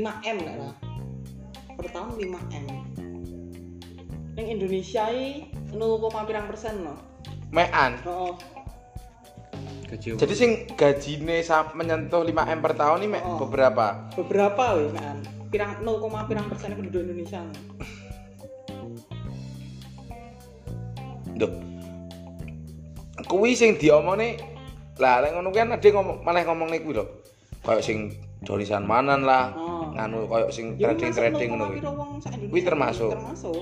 5M lah. Per tahun 5M. Ning Indonesia iki 0,pirang% loh. Mekan. Heeh. Jadi sing gajine menyentuh 5M per tahun ini beberapa. Beberapa weh kan. Pirang 0,pirang% penduduk Indonesia. Duh. Kuwi sing diomongne lah lek ngono kan ade ngomong niku lho. Kayak sing Donisan Manan lah. Nganu kayak sing trading ngono kuwi. Kuwi termasuk.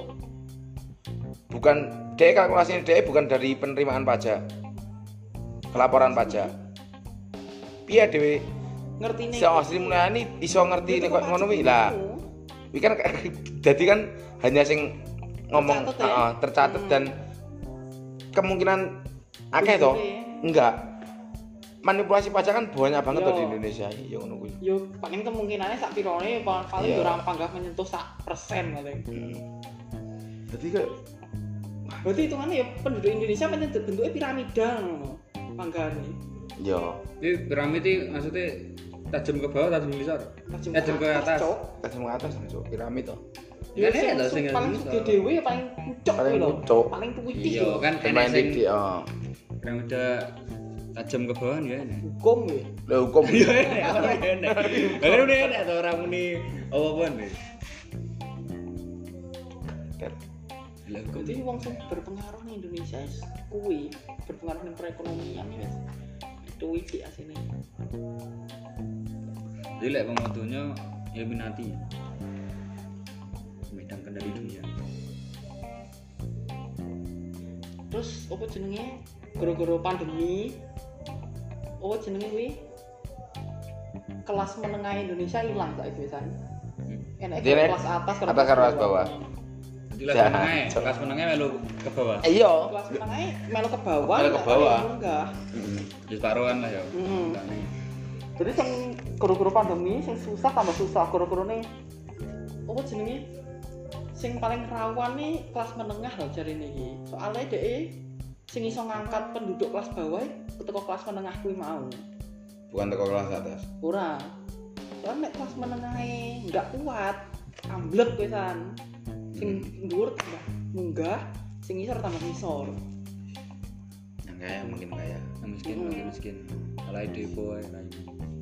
Bukan dhek kalkulasine dhek bukan dari penerimaan pajak. Kelaporan pajak. Piye dhewe ngertine? Sing asli mulane iso ngerti nek koyo ngono kuwi. Lah. Kuwi kan dadi kan hanya sing ngomong tercatat dan kemungkinan akeh toh? Enggak. Manipulasi pajak kan banyak banget tuh di Indonesia ya ngono kuwi. Yo paling kemungkinannya sak pirone paling ora panggah menyentuh 1% paling. Dadi kayak berarti hitungannya ya penduduk Indonesia bentuknya piramida ngono. Panggane. Yo. Ini piramid iki maksudnya tajam ke bawah, tajam ke besar. Tajam ke atas. Tajam ke atas masuk piramid toh. Ya sing paling gede dhewe ya paling pucuk kuwi lho. Paling putih. Iya kan enek sing piramida tajam ke bawah ya enek. Hukum ya. Lah hukum. Iya enek. Lah udah enek to ora muni apa-apaan deh. Jadi wong sing berpengaruh ning Indonesia kuwi berpengaruh ning perekonomian wis. Itu iki asine. Jadi lek pemotongnya Illuminati. Medan kendali dunia. Terus apa jenenge? Gara-gara pandemi. Oh jenenge kuwi kelas menengah Indonesia ilang saiki wisan. Enak kelas atas karo kelas bawah. Kelas menengah melu ke bawah. Iya. Kelas menengah melu ke bawah. Melu ke bawah. Enggak. Wis paruhan lah ya. Jadi sing gara-gara pandemi sing susah tambah susah gara-garane apa jenenge? Sing paling rawan nih kelas menengah lho jarine iki. Soale dhek sing iso ngangkat penduduk kelas bawah teko kelas menengah kuwi mau. Bukan teko kelas atas. Ora. Soale nek kelas menengahe enggak kuat, amblek pisan. Sing dhuwur tambah munggah, sing ngisor tambah ngisor. Yang kaya makin kaya, yang miskin makin miskin. Alai depo ae lah.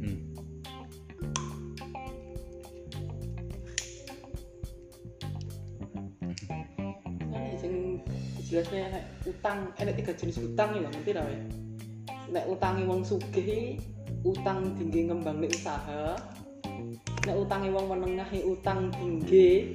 Sing jelasnya nek utang, nek 3 jenis utang ya ngerti ta wae. Nek utange wong sugih, utang tinggi ngembangne usaha. Nek utange wong menengah utang tinggi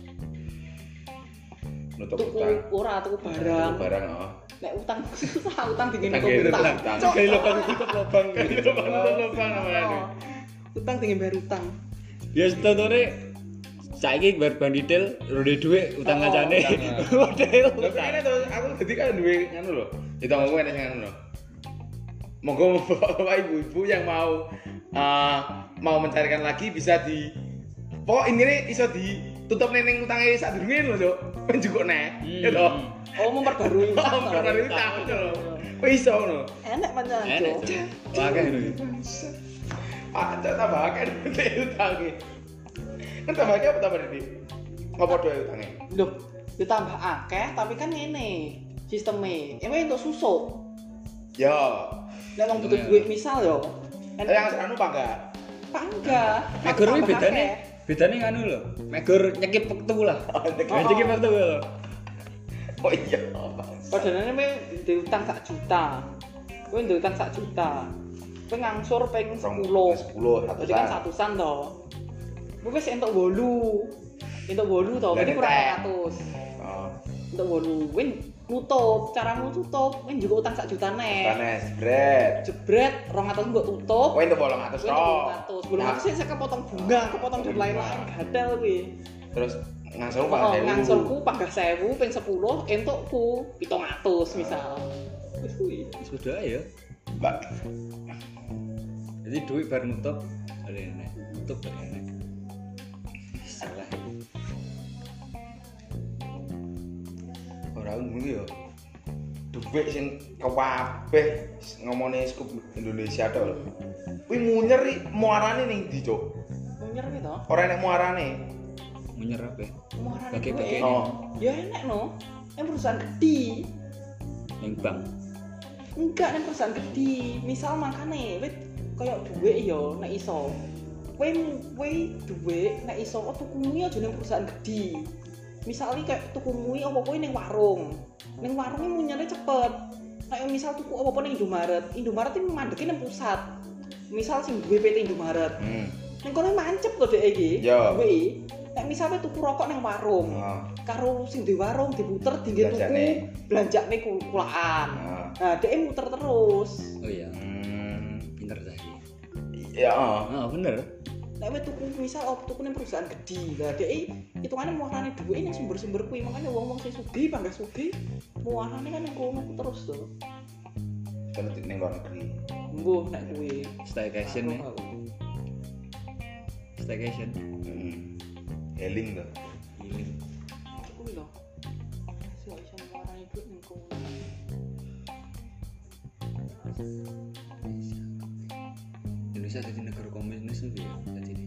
nutup utang. Ora tuku barang. Barang Nek utang susah utang tinggi nutup utang. Kayak lubang tutup lubang. Lubang namanya. Utang tinggi bayar utang. Ya setone saiki bar ban detail rode dhuwit utang kancane. Model. Tapi to aku dadi kan duwe ngono lho. Ditonggo enek sing ngono lho. Monggo bapak ibu-ibu yang mau mencarikan lagi bisa di pokok ini iso ditutup neneng utangnya sak durunge lho, Cuk. Njukuk neh. Ya to. Oh, memperbarui utang. Memperbarui utang lho. Kok iso ngono? Enek pancen, Cuk. Akeh lho. Ada tambah akeh utange. Kan tambah akeh apa tambah Didi? Ngopo doe utange? Lho, ditambah akeh tapi kan ngene sisteme. Ewe entuk susuk. Ya. Nek wong butuh duit misal yo. Yang anu pangga. Pangga. Megor kuwi bedane nganu lho. Megor nyekip wektu lah. Nyekip wektu lho. Oh iya. Padahal me diutang 1 juta. Kowe diutang 1 juta. Kowe ngangsur ping 10. 10 Jadi kan 100-an to. Kowe wis entuk 8. Entuk 8 to, berarti kurang 100. Oh. Entuk 8. Kowe nutup, caramu tutup, kowe juga utang 1 juta nek. Jebret 200 mbok tutup. Kowe entuk 800 to. 800 sik kepotong bunga, kepotong dan lain-lain gatel kuwi. Terus ngangsurku panggah 1000. Ngangsurku panggah 1000 ping 10 entukku 700 misal. Wis kuwi. Wis udah ya. Mbak. Jadi duit bar nutup ada enek. Nutup ada enek. Salah. Ora ngono ya. Duit sing kabeh ngomongane skup Indonesia to. Kuwi munyer muarane ning ndi, Cuk? munyer gitu. Ora enek muarane. Menyerap ya. Muarane Bagi-bagi. duwe. Oh. Ya enek no. Yang perusahaan gede. Yang bank. Enggak yang perusahaan gede. Misal makane wit kayak duwe yo nek iso. Kowe duwe nek iso tuku mie aja ning perusahaan gede. Misalnya kayak tuku mie apa-apa ning warung. Ning warunge munyane cepet. Kayak misal tuku apa-apa ning Indomaret. Indomaret iki mandeke ning pusat. Misal sing duwe PT Indomaret. Ning kono mancep to dhek iki. Yo. Duwe. Nek misalnya tuku rokok ning warung. Karo sing di warung diputer dinggo tuku belanjane kulaan. Nah, dhek muter terus. Oh iya. Pinter tadi. Ya, Oh, bener. Nek wis tuku misal tuku ning perusahaan gede. Lah dhek hitungane muarane dhuwit ning sumber-sumber kuwi. Makane wong-wong sing sugih panggas sugih muarane kan ning kono terus to. kan ning luar negeri. Mbuh nek kuwi Staycation ya. Staycation. Healing to. Healing. kuwi lho. Sing iso muarane dhuwit ning kono. Indonesia jadi negara komunis tuh ya jadi.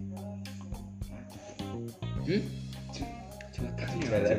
Cuma kasih ya.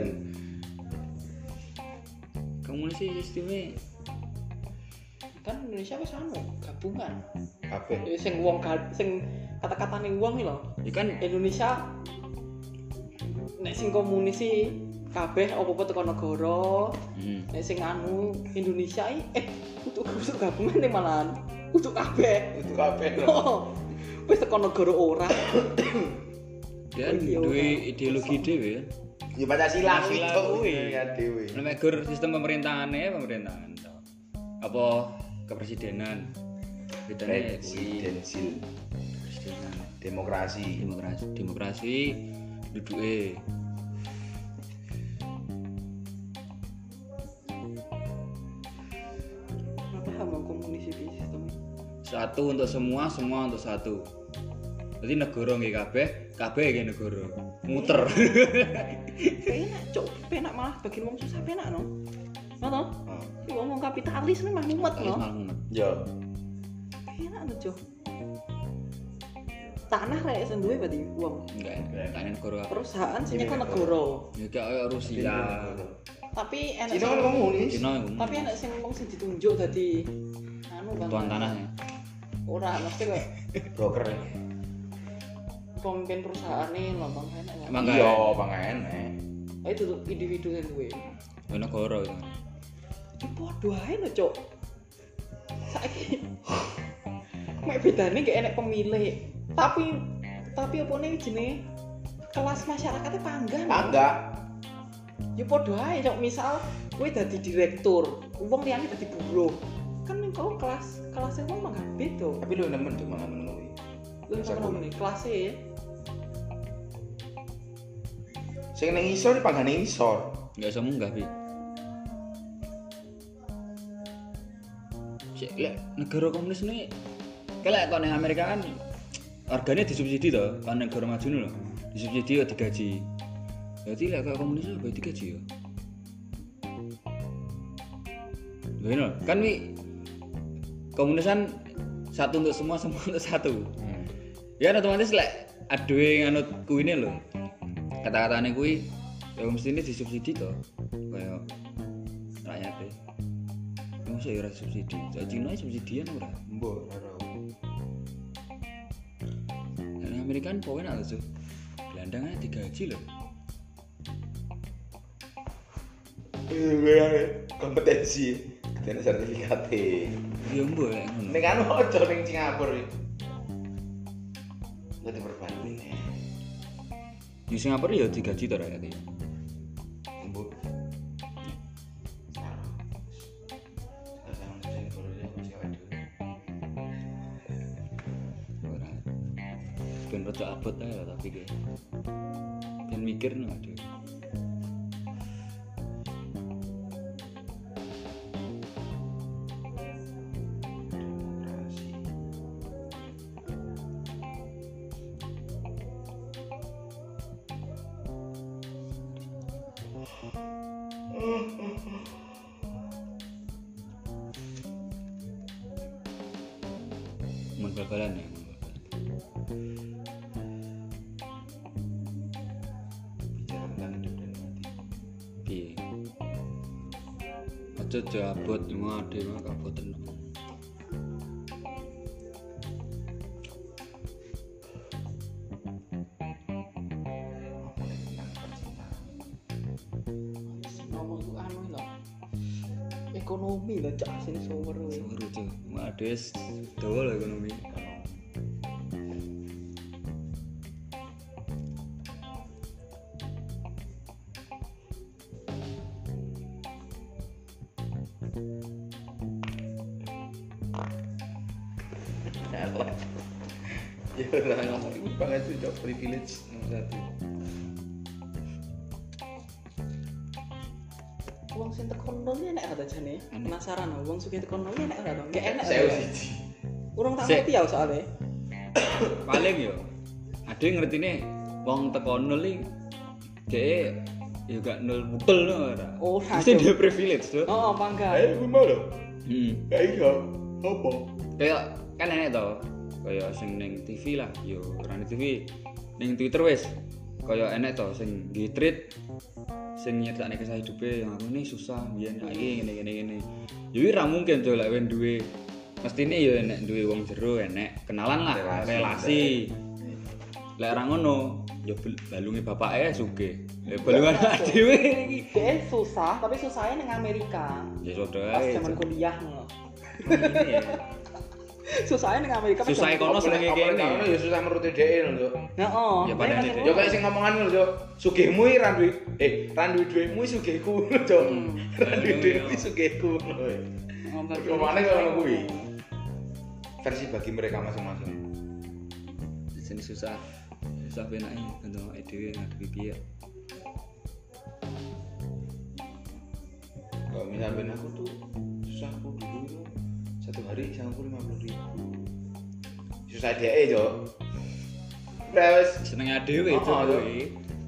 Komunis sih sistemnya Kan Indonesia wis gabungan. Kabeh. Sing wong sing kata-katane wong iki lho. ya kan Indonesia nek sing komunis sih kabeh apa-apa teko negara. Nek sing Indonesia untuk gabungan nih malahan untuk kabeh. Itu kabeh. Wis teko negara ora. dan duwe ideologi dhewe ya. Ya Pancasila Pancasila kuwi. ya dhewe. Nek gur sistem pemerintahan to. Apa kepresidenan bedane Presidensil, presidenan demokrasi. demokrasi duduke Apa hamba komunis iki sistemnya? satu untuk semua, semua untuk satu. Jadi negara nggih kabeh nggih negara. Muter. Penak, cok. Penak malah bagian wong susah penak no. Ngono? Iki wong kapitalis nih mah mumet no. Ya. Penak no, cok. Tanah rek sing duwe berarti wong. Enggak negara. Perusahaan sing nyekel negara. Ya kayak Rusia. Tapi enak Cina kan komunis. Cina tapi enak sing wong sing ditunjuk dadi Bang. tuan tanahnya. Ora mesti kok Broker. pemimpin perusahaan nih lho Bang enak ya. Emang Iya, enggak. Bang enek. Itu tuh individu sing duwe. Negara itu. Iki padha ae lho, Cuk. Saiki mek bedane gak enek pemilih. Tapi apa nih jenenge kelas masyarakatnya panggang. Enggak. Ya padha ae, Cuk. Misal kowe dadi direktur, wong liyane dadi buruh. Kan ning kono kelasnya wong mah gak beda. Tapi lu nemen tuh mangan ngono kuwi. Lha ngono nih kelasnya Sing ning isor dipanggane isor. Enggak iso munggah pi. Lek negara komunis ini kayak kalau ning Amerika kan harganya disubsidi toh, kan negara maju lho. Disubsidi ya digaji. Berarti lek kayak komunis apa digaji ya? Bener, kan wi komunis kan satu untuk semua, semua untuk satu. Ya otomatis lek aduwe nganut kuwine lho. Kata-katane kuwi ya mesti ini disubsidi toh. Kayak rakyate. Masa ya ora subsidi. Sak Cina subsidian ora. Mbok ora. Nek Amerika kan poin ada tuh. Gelandangnya digaji loh. Kompetensi, ketene sertifikat. Iya mbok lek ngono. Ning anu aja ning Singapura iki. Dadi perbandingan. Di Singapura ya digaji to rakyate. Mbok. Ora. Ben rada abot ae lho tapi kayak. Ben mikir no aduh. Mun bal-balan ya. aja abot ngade mah kabot tenan. Ngomong ku anu lho. Ekonomi lho cak sini sumber kuwi. Seru cuk. Ade dawa lho ekonomi. Ya lah ngomong banget tuh job privilege nomor 1. Wong sing tekan nol enak ada jane. Penasaran wong sugih tekan nol enak ada. Enggak enak. Saya siji. Urung tak ngerti ya soalnya. Paling yo ade ngertine wong teko nol iki dhek ya gak nol betul no ora. Oh, mesti dia privilege tuh. Oh, mangga. Kuwi mau lho. Iya, apa? Kayak kan enek to. Kayak sing ning TV lah, yo ora ning TV. Ning Twitter wis. Kayak enek to sing nge-tweet sing nyetakne kisah hidupe yang aku ini susah biyen iki ngene. Yo ora mungkin to lek wen duwe mestine yo enek duwe wong jero enek kenalan lah, relasi. Lek ora ngono, yo balunge bapake sugih. Lek balungan dhewe iki Dia susah, tapi susahnya ning Amerika. ya sudah Pas ae. zaman kuliah ngono. Ini ya. Susahnya ning Amerika. pas Susah zaman- kono senenge Kene kene. ya susah menuruti dhek lho. Heeh. Ya, padahal Tapi itu. Ya kayak sing ngomongan lho, Cuk. Sugihmu iki ra duwe ra duwe dhuwitmu sugihku lho, Cuk. Ra duwe dhuwitmu sugihku lho. Ngomongane kalau kuwi. Versi bagi mereka masing-masing. Di sini susah penake untuk dhewe ngadepi piye. Kalau misalnya aku tuh susahku dulu itu satu hari sangku 50.000. Susah dia Cuk. Terus Senenge dhewe itu Oh, kuwi.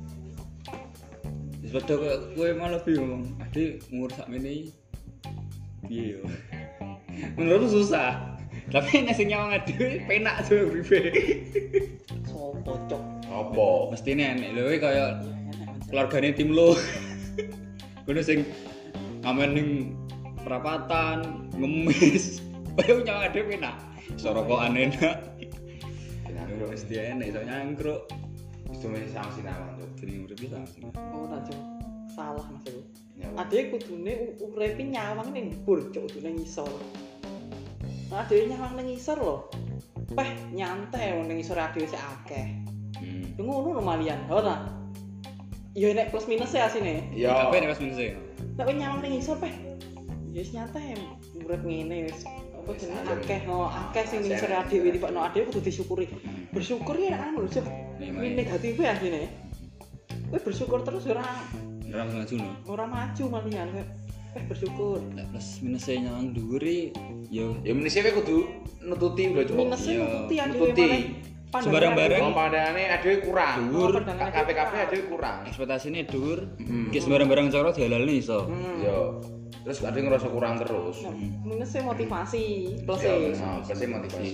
Wis padha kowe malah bingung. Ade umur sakmene piye yo. Menurutku susah. Tapi nek sing nyawang dhewe penak tuh uripe. Sopo cok. apa? Mestine enek lho kaya Ya enak aja. keluargane tim lo. Kudu sing ngamen ning perapatan, ngemis. Bae nyawang dhewe penak. Iso rokokan enak. Yo mesti enek iso nyangkruk. Itu masih sanksi nama tuh. Jenenge urip bisa sih. Oh, nah cok. Salah maksudku. Ya, Ade kudune uripe nyawang ning bur cok kudune ngisor. Nah, ade nyawang ning ngisor lho. Peh nyantai wong ning ngisor ade sik akeh. Yo ngono lho malian. Ora. Yo enek plus minus ya asine. Ya. Kabeh nek pas minus e. Nek kowe nyawang ning ngisor peh. Ya wis nyantai urip ngene wis. Apa jenenge akeh akeh sing ning ngisor ade dipakno ade kudu disyukuri. Bersyukur ya anu lho, Cuk. Ini negatif ya asine. Kowe bersyukur terus ora Ora maju no. ora maju malian. Bersyukur. Nek plus minus e nyawang dhuwur yo Ya menisi kowe kudu nututi lho, Cuk. Minusnya Iya, nututi ade nututi. Sembarang-barang. Wong pandangane adewe kurang. Dhuwur. KPKP adewe kurang. ekspektasine dhuwur. Ki sembarang-barang cara dihalalne iso. Yo. Terus ada ngerasa kurang terus. Minusnya motivasi, plus Ya, e. nah, pasti motivasi.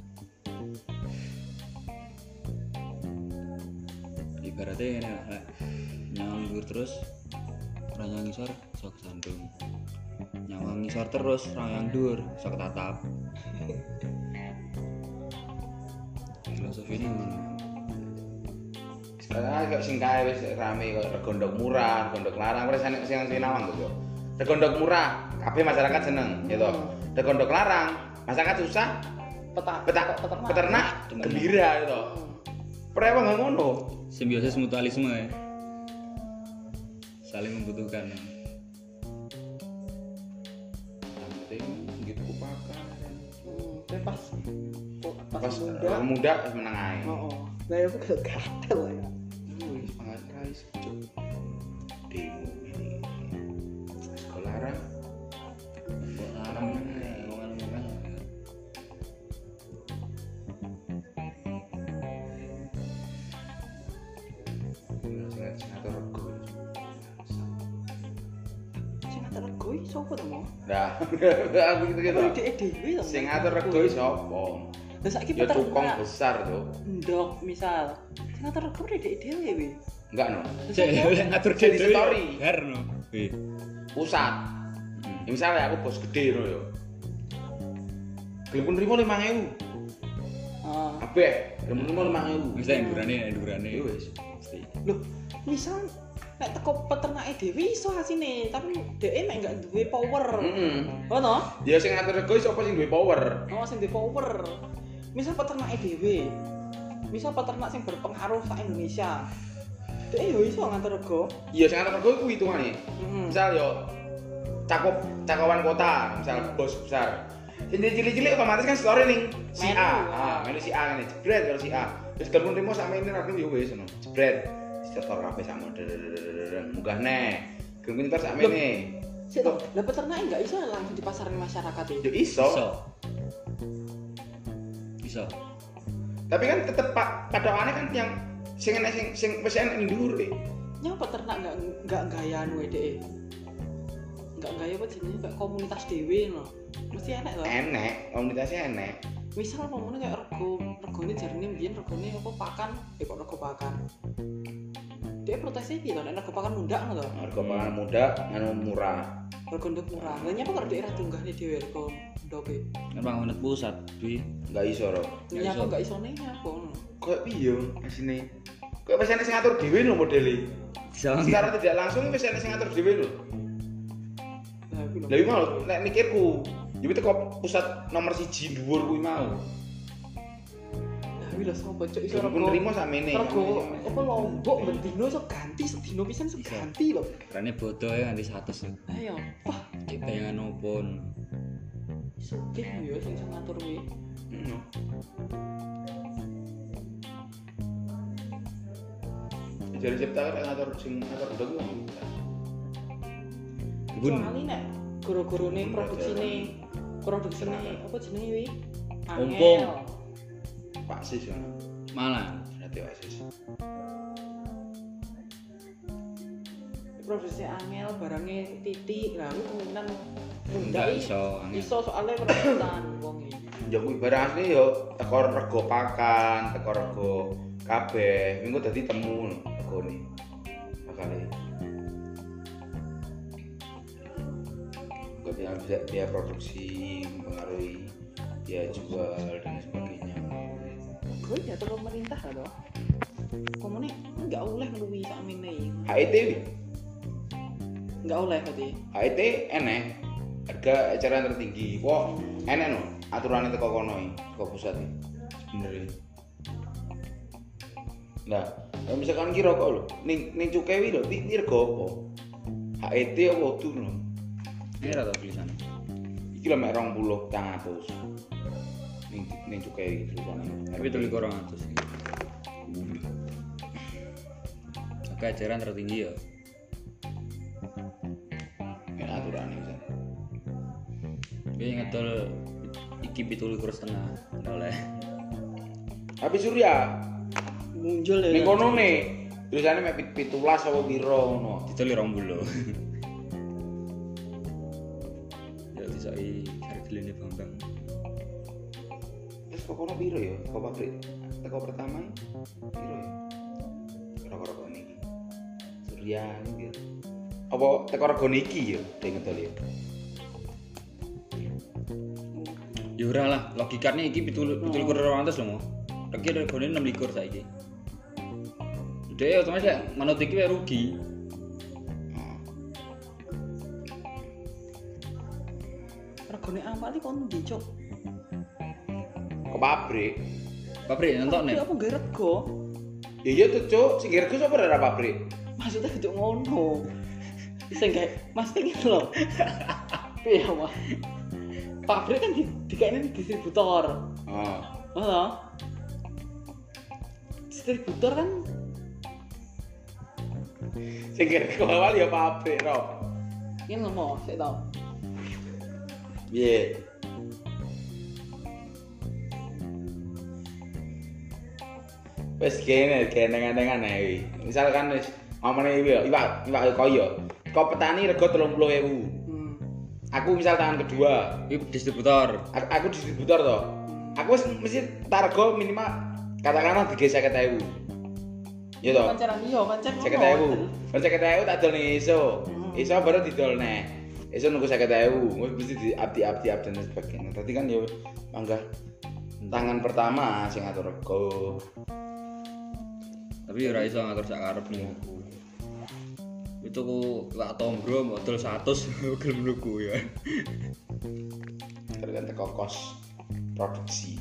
Ibaratnya ini lah, nyawang dhuwur terus ora nyawang ngisor iso kesandung. Nyawang ngisor terus ora nyawang dhuwur iso ketatap. Filosofi ini ngono. Sekarang kayak sing kae wis rame kok regondok murah, regondok larang, wis enek sing sinawang to, Cuk. Regondok murah, kabeh masyarakat seneng, ya toh. Regondok larang, masyarakat susah, peternak gembira ya toh. Prewa nggak ngono. Simbiosis mutualisme ya. Saling membutuhkan. Yang penting gitu kupakan. Pas Pas muda. muda menang ae. Oh. Lah ya aku gatel ya. Wis pangan guys, Cuk. Demo ini. Sekolah larang. Larang ngomong-ngomong. Sing atur rego. Sing ngatur rego iki sapa to, Mo? Nah, aku gitu-gitu. Apa dhek dhewe to? Sing ngatur rego iki sapa? Lah saiki Ya tukang peternak. besar tuh. Ndok misal. Sing ngatur rego dhek dhewe wi. Enggak no. Cek ngatur Jadi dhewe. story. Garno. Wih. Pusat. Ya misalnya aku bos gede ngono yo. Gelem pun nrimo 5.000. Kabeh, gelem pun nrimo 5.000. Wis endurane Ya wis. mesti. Loh, misal nek teko peternake dhewe iso asine, tapi dhek nek gak duwe power. Ngono? Ya sing ngatur rego sapa sing duwe power? Oh, sing duwe power. Misal peternake dhewe. Misal peternak sing berpengaruh sak Indonesia. Dhek yo iso ngatur rego. Iya sing ngatur rego iku hitungane. Misal yo cakupan kota, misal bos besar. Sing cilik-cilik otomatis kan store ning si A. Melu si A ngene, jebret karo si A. Wis gelem nrimo sak meneh aku yo wis ngono. Jebret. Setor kabeh sak munggah neh. Gelem ntar sak meneh. Sik to, lah peternake enggak iso langsung dipasarin masyarakat iki. Yo iso. Iso. Tapi kan tetep padokane kan yang sing enek sing wis enek ning dhuwur e. Nyapa peternak enggak gaya anu dhek. Enggak gaya apa jenenge kayak komunitas dhewe ngono. Mesti enek to? Enek, komunitasnya enek. Misal ngomongnya kayak regone jarine mbiyen regone apa pakan, kok rego pakan. Dia protesnya iki to, nek rego pakan mundak ngono to. Rego pakan muda anu murah. Rego nduk murah. Lah nyapa kok daerah tunggahne dhewe rego ndoke. Kan bangunan pusat, Dwi. Enggak iso, Ro. Nyapa enggak isone nyapa ngono. Kayak piye asine? Kayak wis enek sing ngatur dhewe lho modele. Secara tidak langsung wis enek sing ngatur dhewe lho. Lah iki mau nek mikirku, ya teko pusat nomor 1 dhuwur kuwi mau. Lah iki lho sapa cuk iso Rego nrimo sakmene. Rego apa lombok bendino iso ganti sedino pisan iso ganti lho. Karena bodoh ya nganti 100. Ayo, wah, Kita yang nopon. sugih yo sing ngatur kuwi. Jadi cipta kan ngatur sing ngatur udah ku. Soalnya nek goro-gorone produksine apa jenenge kuwi? Ompong. Pak Sis ya. Malah. Berarti Pak Sis. Produksi angel barangnya titik lah itu kemungkinan Enggak iso angel. iso soalnya perebutan wong iki. Ya kuwi barang asli yo teko rego pakan, teko rego kabeh. Minggu dadi temu regone. Bakale. Gak bisa biaya produksi mempengaruhi biaya jual dan sebagainya. Gue ya terus pemerintah lah toh. Komune enggak oleh meluwi sakmene. HET wi. Enggak oleh berarti. HET enek harga eceran tertinggi. Kok enek no aturannya teko kono iki, teko pusat iki. Sebenarnya. Nah, kalau misalkan kira kok lho, ning cukai wi lho, iki rego apa? HET apa tuh lho? Ini rata tulisan. Iki lho mek 20 200. Ning cukai iki tulisane. Tapi tulis orang atas. Oke, ajaran tertinggi ya. Nek aturane bisa. Tapi ngedol iki 17,5 oleh. Tapi Surya Muncul ya. ning kono ne tulisane mek 17 apa piro ngono. Ditulis 20. Ya disai hargane Bambang. Terus kok kono piro ya? Kok pabrik teko pertama piro ya? Rokok-rokok niki. Surya iki. Apa teko rego niki ya? Ding ngedol ya. Ya ora lah, logikane iki 17,200 lho. Lagi regane 26 saiki. Dhewe otomatis ya manut iki wae rugi. Regone awal iki kon ndi, Cuk? Ke pabrik. Pabrik nonton nek. Tapi apa nggak rego? Ya iya tuh, Cuk. Sing rego sapa ora pabrik? Maksudnya gitu ngono. Sing kayak Mas iki lho. Piye ya, Mas? Pabrik kan dikene distributor. Heeh. Heeh. Distributor kan Sing rego awal ya pabrik, Ro. ini lho, sik to. Piye? Wes kene neng-nengan ae. Misalkan wis ngomongane iki ya, iwak koyo. Kok petani rego 30.000. Aku misal tangan kedua, Iki distributor. aku distributor to. Aku wis mesti targo minimal katakanlah 50.000. Ya to. Pancaran iya, pancen 50.000. Bar 50.000 tak dol ning iso. Iso baru didol neh. Esuk nunggu 50.000, wis mesti diabdi dan sebagainya. Tadi kan yo mangga tangan pertama sing ngatur rego. Tapi ora iso ngatur sak karepmu. Itu ku lak tombro modal 100 gelem nuku ya. Tergantung teko kos produksi.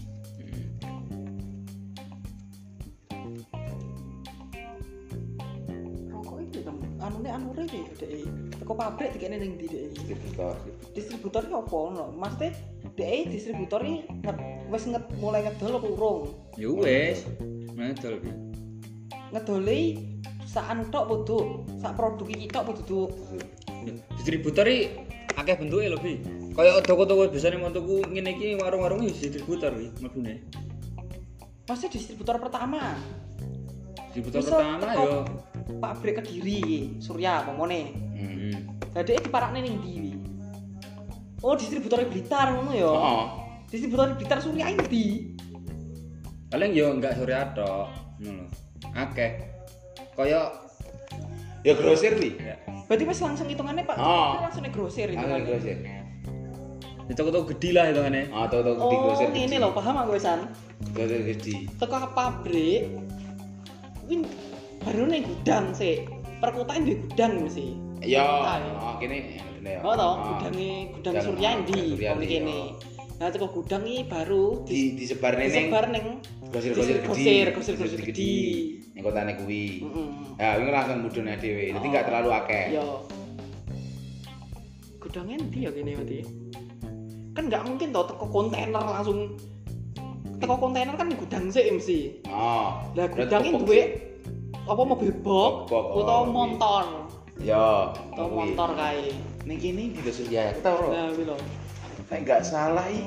Rokok iki kan anure iki dhek. Teko pabrik dikene ning ndi dhek. Distributor. Distributor ki opo ngono? Maksudnya dhek distributor iki wis mulai ngedol apa urung? Ya wis. Ngedol iki. Ngedole sak anu tok podho, sak produk iki tok podho. Distributor iki akeh bentuke lho, Bi. Kayak toko-toko biasane montoku ngene iki warung-warung iki distributor iki mlebune. Maksudnya distributor pertama. Distributor Misal pertama teko yo pabrik Kediri, Surya pomone. Lah dhek diparakne ning ndi wi? Oh, distributor Blitar ngono ya. Heeh. Distributor Blitar Surya ndi? paling yo enggak sore tok ngono lho. Akeh. Kaya Ya grosir wi. ya. Berarti wis langsung hitungannya Pak. Oh. Langsung ning grosir Angel hitungannya. grosir. Di toko-toko gede lah hitungane. Toko-toko di grosir. Oh, ini lho, paham aku wisan. Grosir gede. Teko ke pabrik. Win baru ning gudang sih. Perkotaan di gudang mesti. Ya, Perkotaan. kene ngene ya. Oh toh, gudang Surya ndi kono kene. Nah, teko gudang iki baru disebar ning disebar ning grosir-grosir grosir gede. Ning kotane kuwi. Heeh. Ya, wingi langsung mudhune dhewe. Dadi enggak terlalu akeh. Yo. Gudangnya ndi ya kene berarti? Kan enggak mungkin toh teko kontainer langsung. Teko kontainer kan gudang sih mesti. Oh. Lah gudangnya duwe apa mobil box utawa motor. Ya, Utawa motor kae. ning kene di Surya. Kita ora. Nah, kuwi lho. Nek enggak salah iki.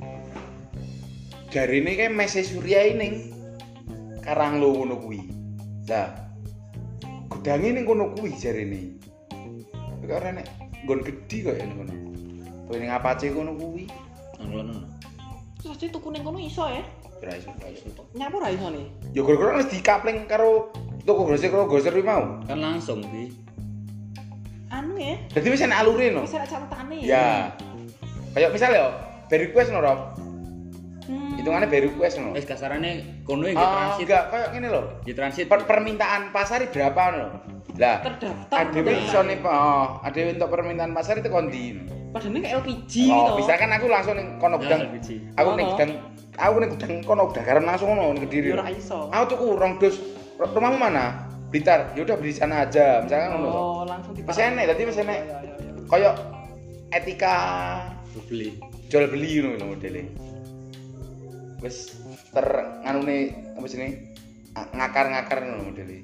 Jarine kae mese Surya ning Karanglo ngono kuwi. Lah. Gudange ning kono kuwi jarine. Kok ora nek nggon gedhi kok ya ning kono. Kowe ning Apache kono kuwi. Ngono. Terus aja tuku ning kono iso ya? Ora iso. Nyapu ra iso nih. Ya gara-gara wis dikapling karo toko grosir kuwi mau. Kan langsung Bi. Anu ya, Dadi wis enak alure no. wis ada catetane. Ya. Kayak misal ya, by request no, Rob. Hmm. Hitungannya by request no. Wis kasarane kono iki Ah, transit. enggak kayak ngene lho. Di transit. Permintaan pasar iki berapa no? Lah, Terdaftar. adewe iso nih, adewe untuk permintaan pasar itu kondi. Padahal kayak LPG Oh, gitu. bisa kan aku langsung ning kono Ya, gudang. LPG. Aku ning Oh, gudang, kono gudang garam langsung ngono ning Kediri. Ya ora iso. Aku tuku rong dus. Rumahmu mana? Blitar. Ya udah beli di sana aja, misalkan ngono. Oh, langsung Wis enek, dadi wis enek. Ya. Kayak etika Beli. jual beli ngono lho modele. Wis nganune apa jenenge? Ngakar-ngakar ngono modele.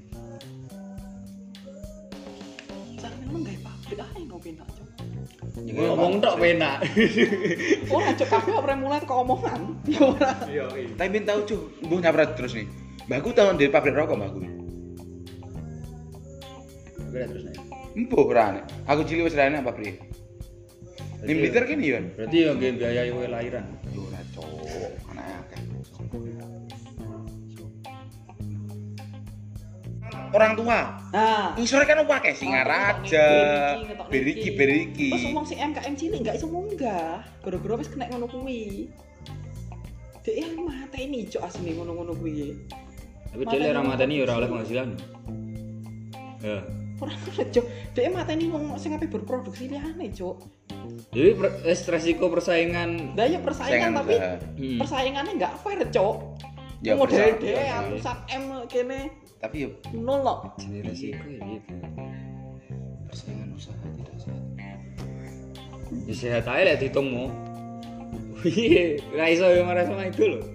Cara memang gawe pabrik ae ngopi tak. Ngomong tok penak. Ora cok kabeh ora mulai kok omongan. Ya ora. Iya, Tapi ben tau cuh, mbuh nyaprat terus nih. Mbahku tau ndek pabrik rokok mbahku. Oke, terus nih. Mbuh ora nek. Aku cilik wis ra enak pabrik. Ning Blitar kene yo. Berarti yo nggih biayai kowe lahiran. Yo ora cok, anake akeh. Orang tua. Nah, Ngisore kan akeh Singaraja, Beriki. terus ngomong sing MKM cilik enggak iso munggah. Gara-gara wis kena ngono kuwi. Dek yang mateni cok asline ngono-ngono kuwi. Tapi dia ora mateni ora oleh penghasilan. Ya. Ora ngono cok. Dek mateni wong sing ape berproduksi liyane cok. Jadi resiko persaingan. Lah ya persaingan tapi usaha. persaingannya enggak fair cok. Ya, Model persaingan. dek atusan M kene Tapi yo nol kok. Jadi resiko ya gitu. persaingan usaha tidak sehat. Ya sehat aja lah ditungmu. Wih, gak iso yang marah sama itu loh.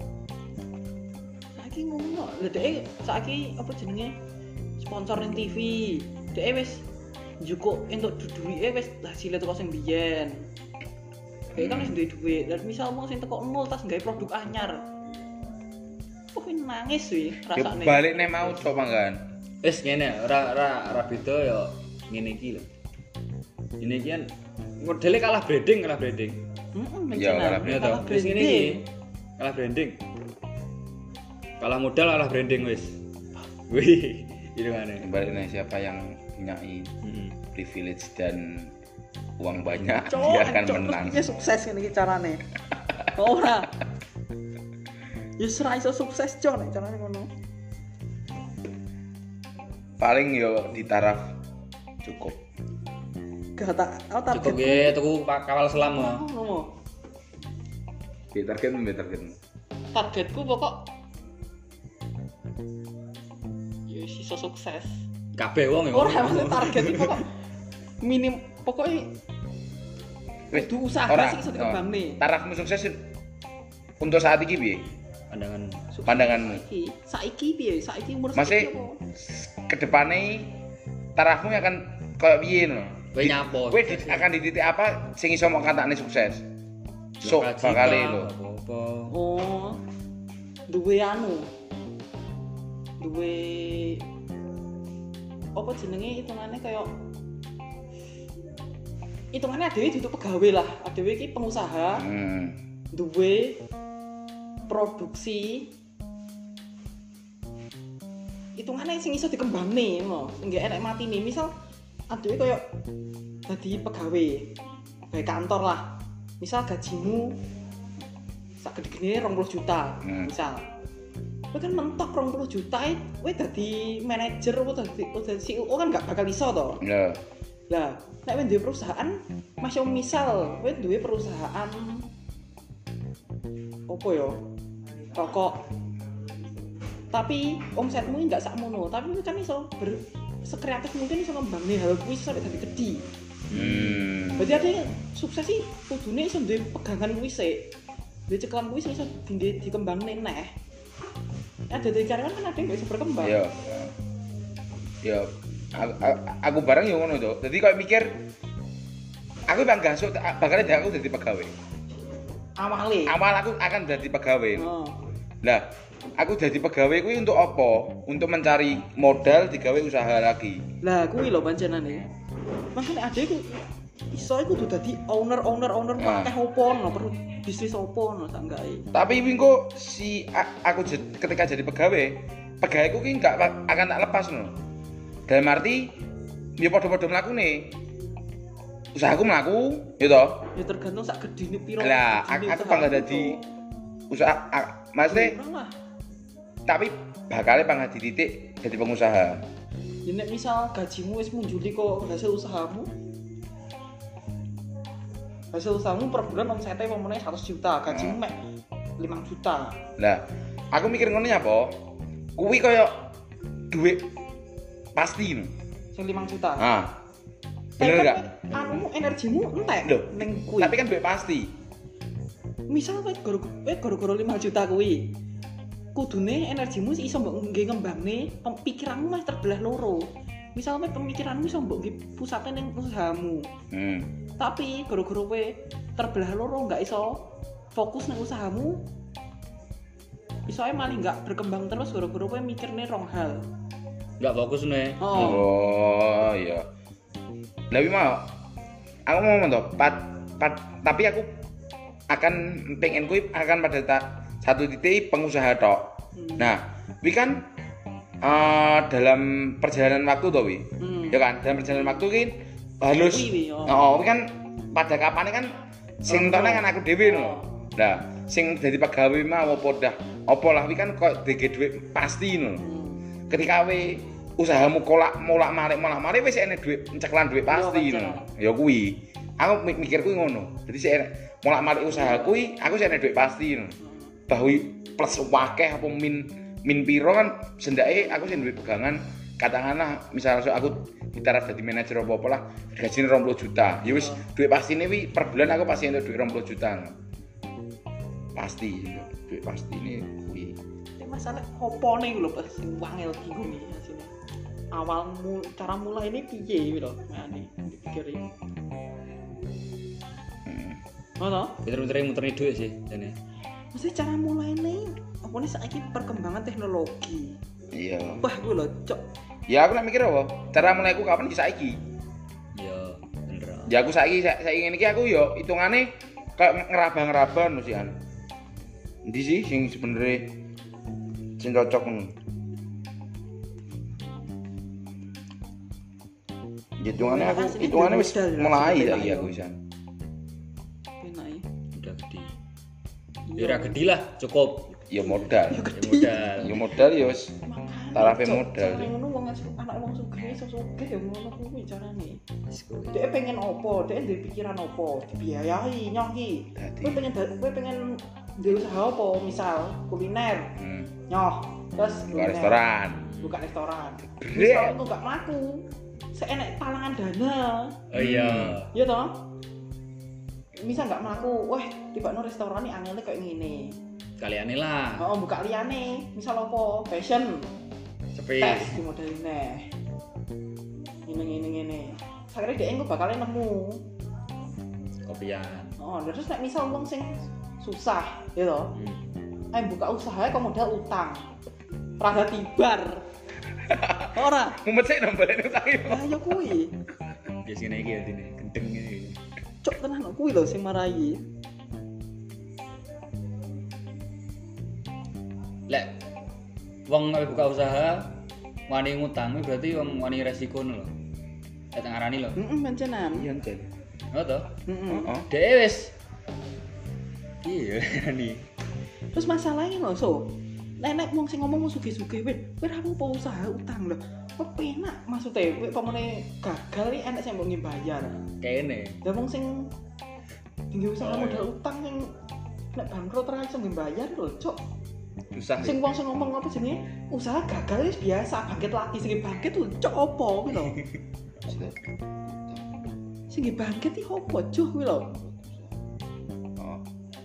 Saiki ngono. Lah dek saiki apa jenenge? Sponsor ning TV. Dek wis njukuk entuk duwike wis hasilé teko sing biyen. Dek kan wis duwe duit. Lah misal mung sing teko nol tas gawe produk anyar. Oh nangis wih Ya rasane. balik nek mau coba kan. Wes ngene, ora beda ya ngene iki lho. Ini iki kan modelnya kalah branding. Heeh, Ya, kalah Ya toh, wis ngene iki. Kalah branding. Kalah modal kalah branding wis. Wih, itu kan. Balik nek siapa yang punya Heeh. privilege dan uang banyak Cok, dia akan cok, menang. Terus piye sukses ngene iki carane? Ora. Ya ora iso sukses cok nek carane ngono. Paling yo di taraf cukup. Gak tak target. Cukup ya tuku kawal selam ya. Ngono. Di target. Targetku pokok ya iso sukses. Kabeh wong ya. Ora maksud target itu pokok minim pokoknya Wis kudu usaha ora, sing iso dikembangne. Tarafmu sukses untuk saat ini piye? Pandanganmu. Saiki piye? Saiki umur Masih saiki apa? kedepane tarafmu akan kayak piye no? Kowe nyapo? Kowe akan di titik apa sing iso mau katakne sukses? Sok bakale lho. Apa? Oh. Duwe anu. Duwe apa jenenge hitungane kaya hitungane dhewe duduk pegawai lah. Dhewe iki pengusaha. Duwe produksi hitungane sing iso dikembangne ngono. Enggak enek matine. Misal adewe kaya dadi pegawai kantor lah. Misal gajimu sak gede-gedene 20 juta, misal. Kowe kan mentok 20 juta kowe dadi manajer apa dadi CEO kan gak bakal iso to. Iya. Lah, nek kowe duwe perusahaan, masih misal kowe duwe perusahaan opo yo? Rokok. Tapi omsetmu enggak sakmono, tapi kan iso sekreatif mungkin iso ngembangne hal kuwi sampai dadi gedhi. Berarti ada sukses sih kudune iso duwe pegangan kuwi sik. Duwe cekelan kuwi iso dikembangne neh. Ada dari karyawan kan ada yang gak bisa berkembang. Iya. Ya, aku bareng ya ngono to. Dadi koyo mikir aku bangga sok bakal aku dadi pegawai. Awal aku akan dadi pegawai. Lah, aku dadi pegawai kuwi untuk apa? Untuk mencari modal digawe usaha lagi. Lah kuwi lho panjenane. Makane adekku iso iku kudu dadi owner akeh opo no, perlu bisnis opo no sak gawe. Tapi wingko si aku ketika jadi pegawaiku ki enggak akan tak lepas no. Dalam arti ya padha-padha mlakune. Usahaku mlaku, ya toh. Ya tergantung sak gedine piro. Lah, aku bangga dadi usaha maksudnya. Tapi bakal bangga di titik jadi pengusaha. Ya nek misal gajimu wis munjuli kok hasil usahamu. Hasil usahamu per bulan omsetnya pemene 100 juta, gajimu mek 5 juta. Lah, aku mikir ngono ya apa? Kuwi kaya duit pasti no. Sing 5 juta. Bener enggak? Anumu energimu entek ning kuwi. Tapi kan duit pasti. Misal kowe gara-gara 5 juta kuwi. Kudune energimu iso mbok ngge ngembangne pikiranmu mah terbelah loro. Misal kowe pemikiranmu iso mbok ngge pusate ning usahamu. Tapi gara-gara kowe terbelah loro enggak iso fokus ning usahamu. Iso ae malah enggak berkembang terus gara-gara kowe mikirne rong hal. Enggak fokus nih. Oh iya. Tapi mau aku mau toh tapi aku akan pengen kuwi akan pada satu titik pengusaha tok. Nah, wi kan dalam perjalanan waktu toh wi. Ya kan, dalam perjalanan waktu ki halus. Wi kan pada kapane kan sing tone kan aku dhewe no. Nah, sing dadi pegawai mah apa lah wi kan kok dege dhuwit pasti no. Ketika we usahamu molak-malik wis enek dhuwit ceklan dhuwit pasti no. Ya kuwi. Aku mikir kuwi ngono. Dadi sik molak-malik usaha kuwi aku sik enek dhuwit pasti no. Bahwi plus wakeh apa min piro kan sendake aku sing duwe pegangan katakanlah misalnya aku di taraf dadi manajer apa lah gajine 20 juta. Ya wis dhuwit pastine wi per bulan aku pasti entuk dhuwit 20 juta. No. Pasti dhuwit pastine kuwi. Masalah opone lho pas sing wangel iki kuwi asine. Awalmu cara mulai ini piye lho ngene dipikir iki. Ono? Pinter-pintere muterni dhuwit sih jane. Mesti cara mulai ini apa nih saiki perkembangan teknologi. Iya. Wah gue lho cok. Ya aku nak mikir apa? Cara mulaiku kapan iki saiki? Iya, bener. Ya aku saiki ngene iki aku yo hitungane kayak ngeraba-ngeraba no sian. Endi sih sing sebenere sing cocok ngono. Hitungane wis mulai saiki aku pisan. Enak ya. Udah gede. Ya ora gede lah, cukup. Ya modal. Ya modal ya wis tarafe modal. Ngono wong anak wong sugih iso sugih ya ngono kuwi carane. Dhek pengen opo, dhek duwe pikiran opo, dibiayai nyong iki. Kowe pengen duwe usaha opo, misal kuliner. Nyoh, terus buka restoran. Misal itu gak mlaku. Seenek talangan dana. Oh iya. Iya toh? Misal gak mlaku, wah tibakno restoran iki angele koyo ngene. Kaliane lah. Oh, buka liyane. Misal opo? Fashion. Sepi. Tes di model neh. Ngene. Sakjane dhek engko bakal nemu. Kopian. Oh, terus nek misal wong sing susah, ya toh. Buka usaha kok modal utang. Rada tibar. Ora. Mumet sik nombalene utang iki. Lah ya kuwi. Biasane iki atine gendeng iki. Cok tenan kuwi lho sing marahi. Lek wong buka usaha wani ngutang berarti wong wani resiko lho. Lek teng arani lho. Pancenan. Iya jan. Oh toh? Heeh. Dhewe wis iya nih. Terus masalahnya lho, so. Nek wong sing ngomong sugih-sugih kowe ra apa usaha utang lho. Kok penak maksudnya kowe pamane gagal iki enek sing mbok bayar. Kene. Lah wong sing tinggi usaha modal utang sing nek bangkrut ra iso bayar lho, cok. Susah. Sing wong sing ngomong apa jenenge? Usaha gagal wis biasa, bangkit lagi sing bangkit lho, cok opo kuwi lho. Sing bangkit iki opo, cok kuwi lho. Oh.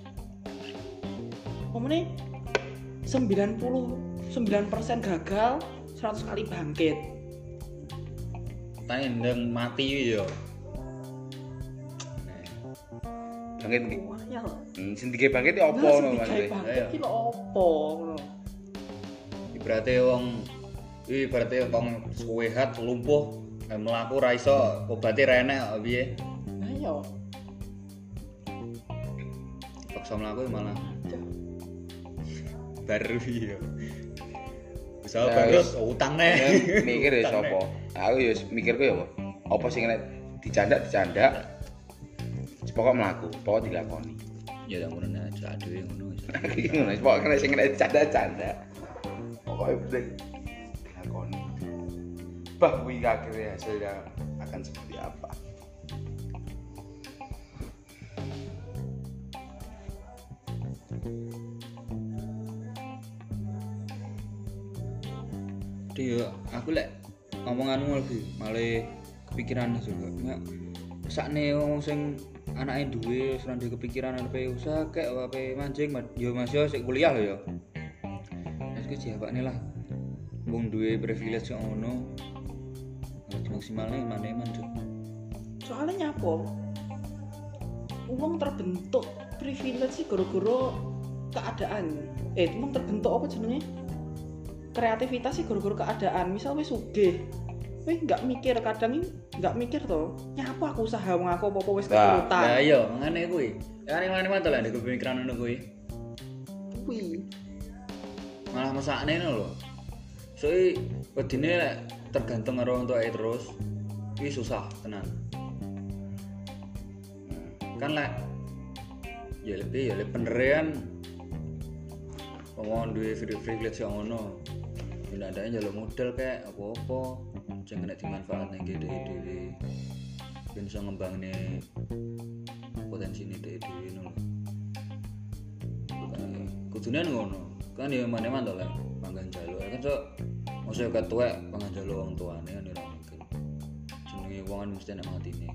Omone 99% gagal, 100 kali bangkit. Tane ndeng mati yo. Bangkit iki. Wah, ya lho. Sing dige bangkit iki opo ngono Mas? Bangkit iki lho opo ngono. Ibaratnya wong suwehat lumpuh mlaku ra iso obate ra enek kok piye. Ayo. Paksa mlaku malah baru iya. Usaha bangkrut utang neh. Mikir ya sapa? Aku ya mikirku ya apa sing nek dicandak. Pokok mlaku, pokok dilakoni. Ya tak ngono aja dhewe ngono wis. Ngono wis pokok nek sing nek dicandak. Pokoke penting dilakoni. Bah kuwi akhirnya hasilnya akan seperti apa? Dia aku lek ngomonganmu lagi malah kepikiran juga. Ya, sakne wong sing anake duwe wis ndek kepikiran arepe usaha kek ape mancing yo Mas yo sik kuliah lho yo. Wis ku jawabane lah. Wong duwe privilege kok ngono. Harus maksimalnya mana-mana Cuk. Soalnya nyapa? Wong terbentuk privilege sih gara-gara keadaan. Wong terbentuk apa jenenge? Kreativitas sih gara-gara keadaan. Misal wis sugih, kowe enggak mikir, kadang enggak mikir to. Nyapa aku usaha wong aku apa-apa wis keturutan. Lah iya, mangane kuwi. Kan mantul lah ndek pemikiran ngono kuwi. Kuwi. Malah mesakne ngono lho. Soe wedine lek tergantung karo wong tuae terus iki susah tenan. Kan lek ya lebih penerean wong duwe privilege yang ngono. Nek ada njaluk modal kayak apa-apa jangan nek dimanfaatne dhewe. Ben iso ngembangne potensine dhewe ngono. Kudune ngono. Kan ya maneman to lek panggan njaluk. Kan sok mosok ketuwek panggan njaluk wong tuane kan ora mungkin. Jenenge wong kan mesti nek matine.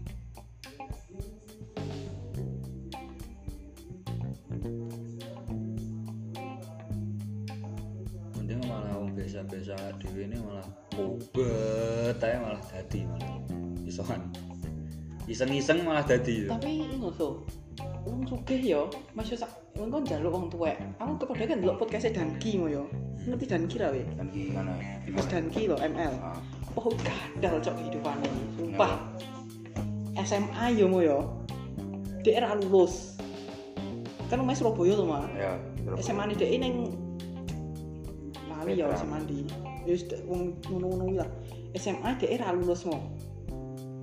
Biasa dhewe ini malah obet ae malah dadi malah isokan iseng-iseng malah dadi. Tapi ngono to. Wong sugih ya, Mas yo sak engko njaluk wong tuwek. Aku kepadha kan ndelok podcast Danki mo yo. Ngerti Danki ra we? Danki mana? Mas Danki lho ML. Oh, gadal cok hidupane. Sumpah. SMA yo mo yo. Dek ra lulus. Kan Mas Surabaya to, Mas. Ya, SMA ni dek ning Lali ya SMA di. Wis wong ngono-ngono lah. SMA dhek ra lulus mo.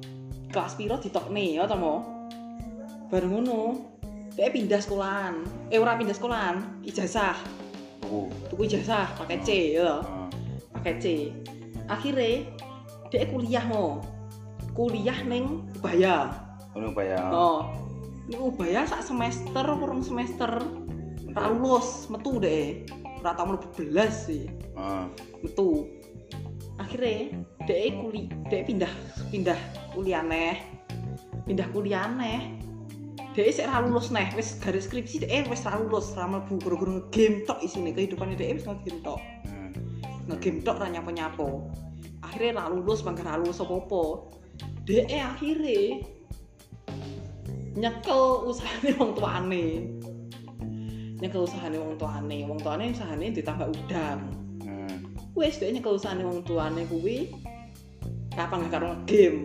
kelas piro ditokne ya to mo. Bareng ngono, dhek pindah sekolahan. Ora pindah sekolahan, ijazah. Tuku ijazah pakai C ya. Pakai C. Akhire dhek kuliah mo. Kuliah ning Ubaya. Ubaya. Oh. Ning Ubaya sak semester, kurang semester. Ra lulus, metu dhek. Ora tau mlebu belas sih. Metu. Akhire dhek pindah kuliah neh. Pindah kuliah neh. Dhek sik ra lulus neh, wis garis skripsi dhek wis ra lulus, ra mlebu gara-gara ngegame tok isine kehidupane dhek wis ngegame tok. Ngegame tok ra nyapo-nyapo. Akhire ra lulus, mangga ra lulus apa-apa. Dhek akhire nyekel usahane wong tuane. Nyekel usahane wong tuane usahane ditambah udang. Wis dhek nyekel usahane wong tuane kuwi kapan gak karo ngegame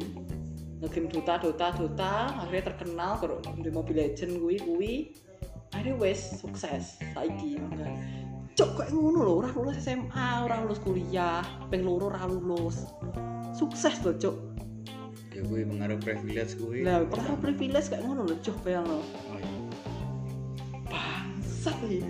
Dota akhirnya terkenal karo di Mobile Legends kuwi akhirnya wis sukses saiki mangga. Cok kok ngono lho, ora lulus SMA, ora lulus kuliah, ping 2 ora lulus. Sukses lho, Cok. Ya kuwi pengaruh privilege kuwi. Lah, pengaruh privilege kayak ngono lho, Cok, bayangno. Bangsat iki.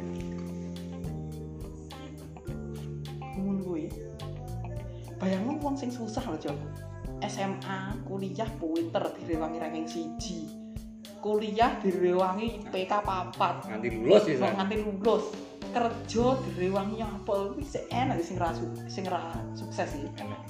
Ngono kuwi. Bayangno wong sing susah lho, Cok. SMA, kuliah pinter direwangi ranking 1. Kuliah direwangi IPK 4. Nganti lulus ya. Nganti lulus. Kerja direwangi apa kuwi sik enak sing ra sukses iki. Enak.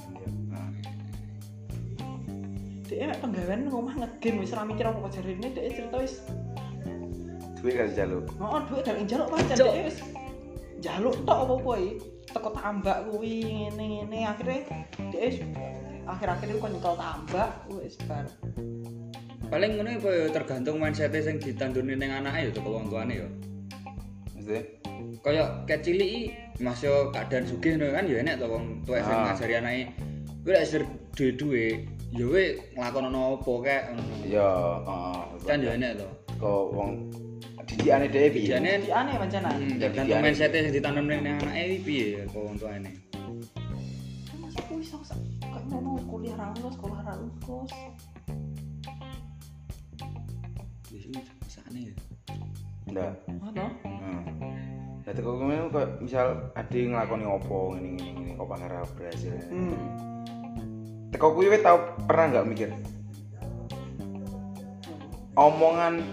Dhek mek penggawean nang omah ngegame wis ora mikir apa jarine dhek cerita wis duit kan jaluk. Heeh, duit dari njaluk pancen dhek wis njaluk tok apa-apa iki. Teko tambak kuwi ngene-ngene akhirnya dhek wis akhir-akhir kok nyekel tambak wis bar. Paling ngono apa ya tergantung mindset sing ditandurne ning anake ya teko wong tuane ya. Mesti Kayak kecil iki Mas yo keadaan sugih ngono kan ya enek to wong tuwek sing ngajari anake. Kuwi lek ser duwe-duwe ya kowe nglakonono apa kek ngono. ya, Kan ya enek to. Kok wong didikane dhewe piye? Didikane pancen. Tergantung mindset sing ditanam ning anake piye kok wong tuane. Masuk kuwi sok kayak ngono kuliah ra lulus, sekolah ra lulus. Wis sakne ya. Ndak. Ngono. Lah teko kene kok misal ade nglakoni opo ngene kok pangarep berhasil. Teko kuwi wis tau pernah enggak mikir omongan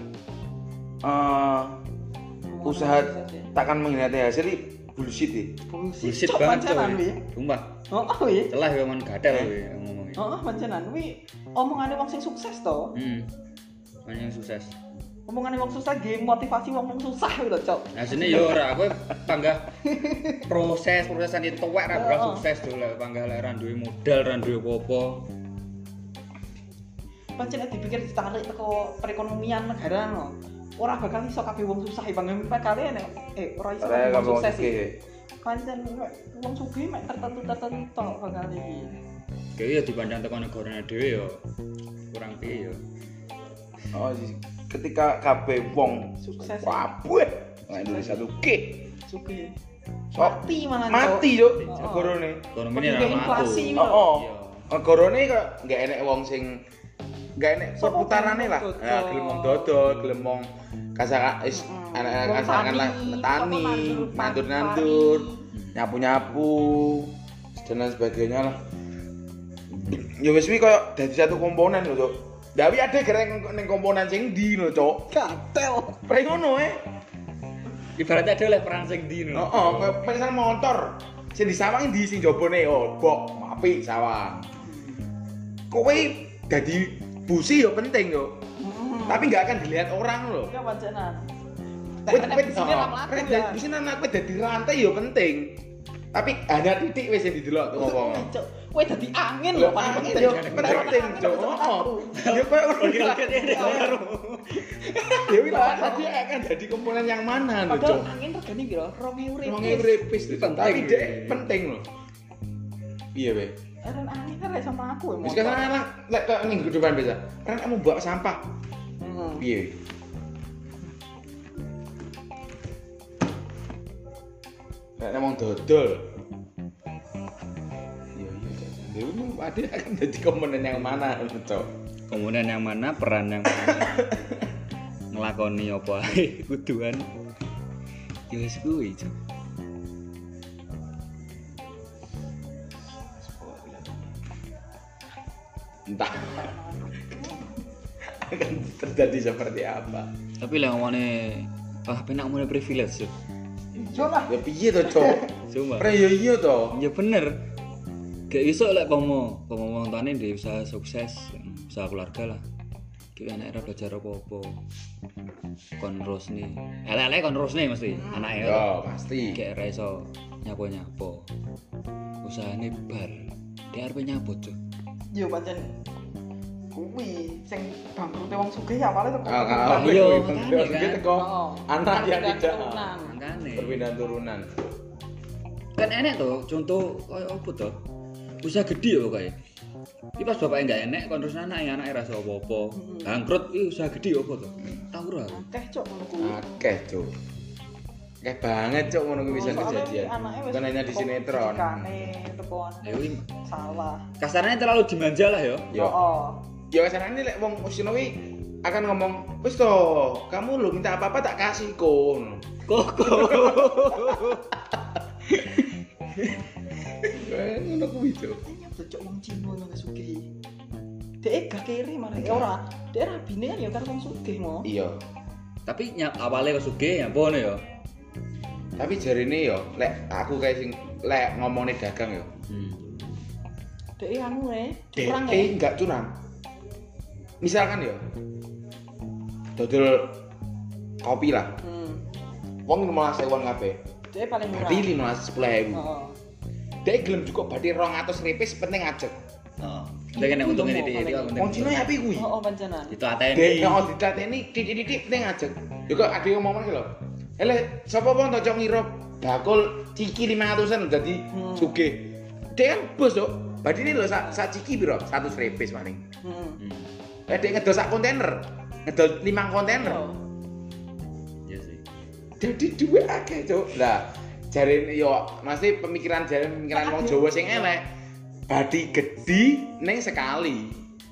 usaha takkan mengkhianati hasil iki bullshit iki. Bullshit banget to. Sumpah. Oh iya. Celah ya men gadel kowe ngomongnya. Heeh, pancenan kuwi omongane wong sing sukses to. Banyak yang sukses. Omongane wong susah game motivasi wong susah kuwi lho, Cok. Asline yo ora kowe panggah prosesan itu tuwek ra bakal sukses to lek panggah lek ra duwe modal, ra duwe apa-apa. Pancen dipikir ditarik teko perekonomian negara no. Ora bakal iso kabeh wong susah bang kali ora iso kabeh wong sukses iki. Pancen wong sugih mek tertentu tok bakal iki. Kayak ya dipandang teko negara dhewe yo kurang piye yo. Oh, ketika kabeh wong sukses kabeh nang Indonesia luke sugih. Sok mati yo negarane. Ekonomine ra inflasi. Heeh. Negarane kok enggak enek wong sing enggak enek perputarane lah. Ya gelem wong dodol, gelem wong kasak anak-anak kasakan lah tani, nandur-nandur, nyapu-nyapu dan lain sebagainya lah. Ya wis kuwi koyo dadi satu komponen lho, Cuk. Dawi ada gereng ning komponen sing ndi lho, Cuk. Gatel. Pre ngono Ibaratnya ada oleh perang sing ndi lho. Heeh, koyo pesan motor. Sing disawang ndi sing jabone bok, apik sawang. Kowe dadi busi yo penting yo. Tapi enggak akan dilihat orang lho. Ya pancenan. Di sini anak kowe dadi rantai yo penting. Tapi ada titik wis sing didelok tuh ngomong. Kowe dadi angin lho paling penting. Yo penting, Cuk. Heeh. Yo kowe Ya wis tadi akan jadi komponen yang mana lho, Cuk. Padahal angin regane piro? 2000 repis. Tapi dek penting lho. Iya, Be. Dan angin kan sama aku ya. Wis kan lek kok ning depan bisa. Kan kamu bawa sampah. Piye? Nek ngomong dodol. Iya, Dewi ada akan jadi komponen yang mana, Cok? komunen yang mana, peran yang mana. Ngelakoni apa ae kuduan. Ya wis kuwi, Cuk. Entah akan terjadi seperti apa. Tapi lah ngomongnya penak ngomongnya privilege Cuk. Iya lah. Ya piye to, Cok? Cuma Ora ya iya to. ya bener. Gak iso lek wong tuane ndek usaha sukses, usaha keluarga lah. Ki anak era belajar apa-apa. Kon terus nih. Elek-elek kon terus nih mesti anake. Ya, pasti. Kayak ora iso nyapo-nyapo. Usahane bar. Dia arep nyapo, Cuk. Yo pancen kuwi sing bangkrute wong sugih awale teko. iya, Terus makanya, gitu kok. Oh. Anak yang Perpindahan tidak turunan. Makane. perpindahan turunan. Kan enek to, contoh koyo opo to? Usaha gede ya kayak. Iki pas bapaknya enggak enek kon terus anake rasa apa-apa. Bangkrut iki usaha gede opo to? Tahu ora? Akeh cok ngono kuwi. Akeh, Cuk. Akeh banget, Cuk, ngono kuwi bisa kejadian. Bukan hanya di sinetron. Tekoan. Ya kuwi Salah. kasarnya terlalu dimanja lah ya. Yo. Oh. Ya kasarane lek wong usino kuwi akan ngomong, "Wis to, kamu lu minta apa-apa tak kasih kon." Kok Ngono kuwi, Cuk. Nyapa cok wong Cina nang sugih. Dek gak kiri malah ora. Dek rabine kan ya karo wong sugih mo. Iya. tapi awalnya kok sugih ya bono ya. Tapi jarine yo, lek aku kayak sing lek ngomongne dagang yo. Dek anu curang Enggak curang. Misalkan yo. Dodol kopi lah. Wong 15.000 kabeh. Dek paling murah. Berarti 10.000. Heeh. Dek gelem cukup berarti 200 ripis penting ajek. Heeh. Lek nek untungnya titik-titik kok Wong Cina ya api kuwi. Oh pancenan. itu atene. Dek nek ditateni titik-titik penting ajek. Yo kok ade ngomong lho. Ele sapa wong to cok ngira bakul ciki 500-an dadi sugih. Dek kan bos to. Berarti ini lho sak ciki piro? 100 ripis paling. Dek ngedol sak kontainer. Ngedol 5 kontainer. Iya sih. Jadi duwe akeh, Cuk. Lah, jare yo mesti pemikiran wong Jawa sing elek. Badi gede ning sekali.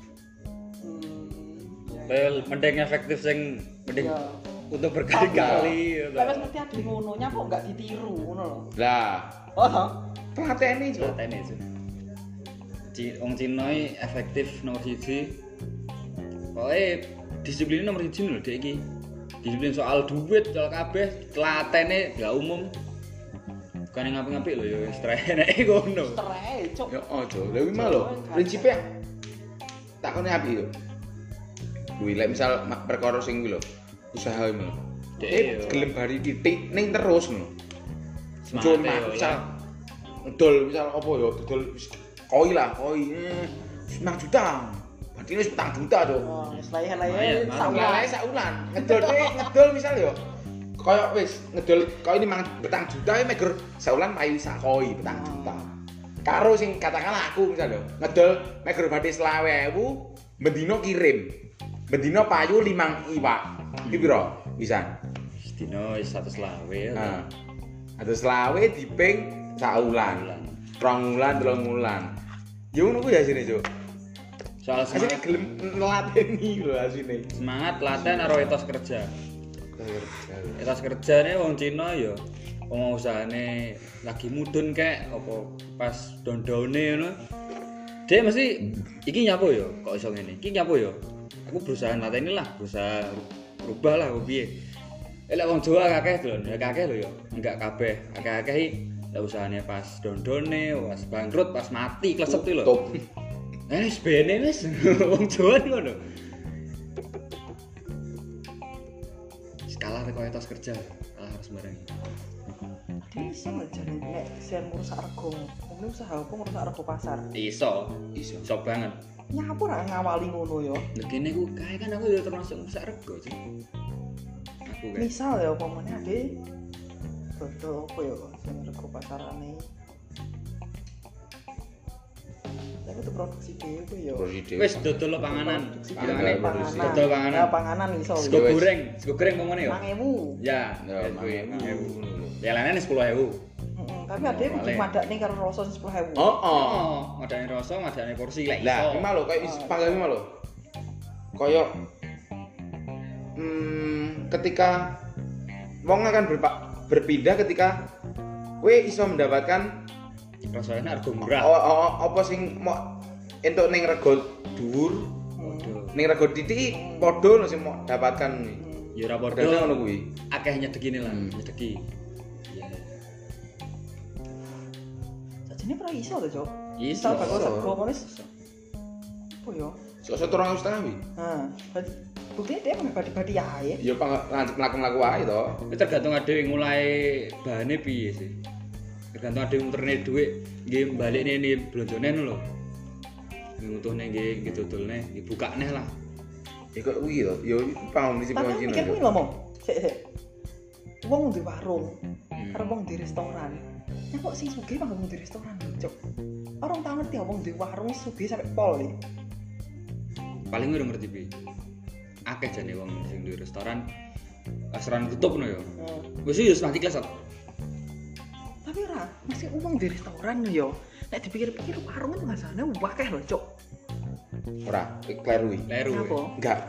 Well, mending efektif sing mending Iya. untuk berkali-kali ya. Lah wis mesti ade ngono nyapa enggak ditiru ngono lho. Lah, Oh. pelatene, Cuk. Atene sih. Wong Cina iki efektif nomor 1. Pokoke disiplinnya nomor 1 lho dek iki. Disiplin soal duit, soal kabeh, telatene gak umum. Bukan yang ngapik-ngapik lho ya wis trene ngono. Cerai cok. Yo ojo. Lah kuwi mah lho, prinsipe takone api yo. Kuwi lek misal perkara sing kuwi lho, usaha iki lho. Dek, yo. Gelem bari titik ning terus lho. Semangat Cuma yo, misal ngedol misal apa yo, dodol koi lah, koi 5 juta. Berarti wis 4 juta to. Oh, wis lae-lae Lumayan, saulan. Lele saulan. Ngedol misal yo. Kaya wis ngedol koi 5 juta iki meger saulan payu sak koi 4 juta. Karo sing katakanlah aku misal yo, ngedol meger badhe 20.000, bendino kirim. Bendino payu 5 iwak. Iki piro? Bisa. Sedino wis 120 ya. Nah. Atus selawe diping sak wulan. 2 wulan, 3 wulan. Ya ngono kuwi asine, Cuk. Soal Asine semangat, gelem nelateni lho asine. semangat latihan karo etos kerja. Etos kerjane wong Cina ya wong usahane lagi mudun kek apa pas dondone ngono. Dek mesti iki nyapo ya kok iso ngene. Iki nyapo ya. Aku berusaha lateni lah, berusaha rubah lah piye. Lek wong Jawa akeh lho, ya akeh lho ya. Enggak kabeh, akeh-akeh iki lek usahane pas dondone, pas bangkrut, pas mati klesep iki lho. Top. Wis bene wis wong Jawa ngono. Skala teko etos kerja, kalah harus bareng. Ade iso jane nek sen ngrusak rego. Mungkin usaha apa ngrusak rego pasar. Iso, Iso. iso banget. Nyapo ra ngawali ngono ya. Nek kene ku kae kan aku ya termasuk rusak rego sih. Aku kan. Misal ya upamane ade dodol apa ya sing rego pasarane. Tapi itu produksi dhewe ku ya. Wis dodol panganan. Panganan. Dodol panganan. Ya panganan iso. Sego Ya, wis. goreng ngomongane ya. 5.000. Ya, Ya, kuwi 5.000 ngono lho. Ya lainnya 10.000. Tapi ade kudu Boleh. madakne karo rasa 10.000. Oh, oh. Oh, madane rasa, madane porsi lek iso. Lah, iki mah lho kayak panggang iki mah lho. koyo ketika wong akan berpindah ketika kowe iso mendapatkan rasane harga murah. Apa sing mau entuk ning rego dhuwur, ning rego titik padha lho sing mau dapatkan. Ya ora padha ngono kuwi. Akeh nyedekine lah, nyedeki. Iya. Sajane pra iso to, Cok. Iso bakal rego ngono. Oh yo. Sok 2,5 wi. Buktinya dia badi-badi ae. Ya mlaku-mlaku wae to. Tergantung adewe mulai bahane piye sih. Tergantung adewe muterne dhuwit nggih balikne ni blonjone lho. Ngutuhne nggih dodolne, dibukane lah. Ya kok kuwi to. Ya paham sih Tapi pangcine. mikir kuwi lho, Mong. Sik. Wong di warung, karo wong di restoran. Ya kok sing sugih manggon di restoran, Cok. Orang tau ngerti wong di warung sugih sampe pol iki. Paling ora ngerti piye. Akeh jane wong sing di restoran tutup no ya. Wis yo mati kelas. Tapi ora, masih wong di restoran yo. Nek dipikir-pikir warung itu ngasane akeh lho, Cok. Ora, kleru iki. Leru. Enggak.